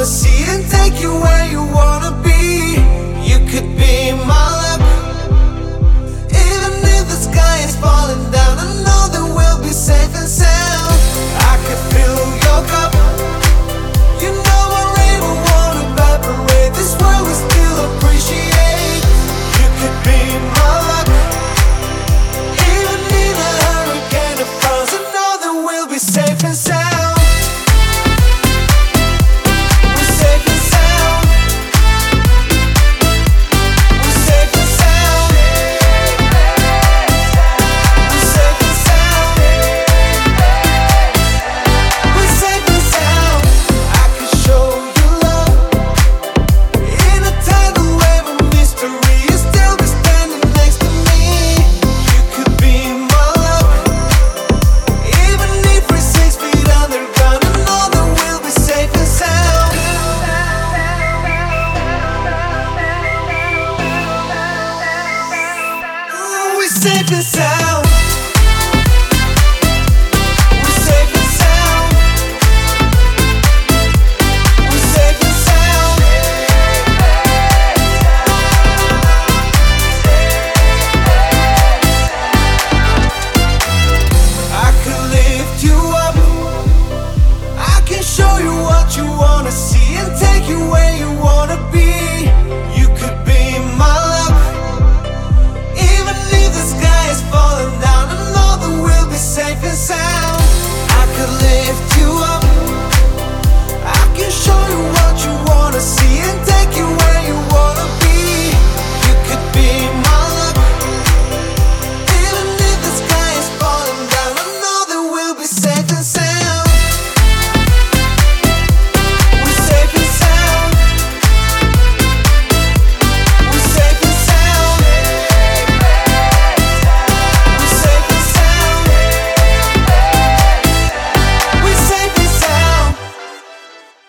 see and take you where you wanna be. You could be my luck. Even if the sky is falling down, I know that we'll be safe and sound. I could fill your cup. You know my rainbow won't evaporate. This world will still appreciate. You could be my luck. Even in a hurricane of frowns, I know that we'll be safe and sound. We're safe and sound. We're safe and sound. We're safe and sound. We're safe and sound. I could show you love in a tidal wave of mystery. You'll still be standing next to me. You could be my love. Even if we're 6 feet underground, I know that we'll be safe and sound. We're safe and sound.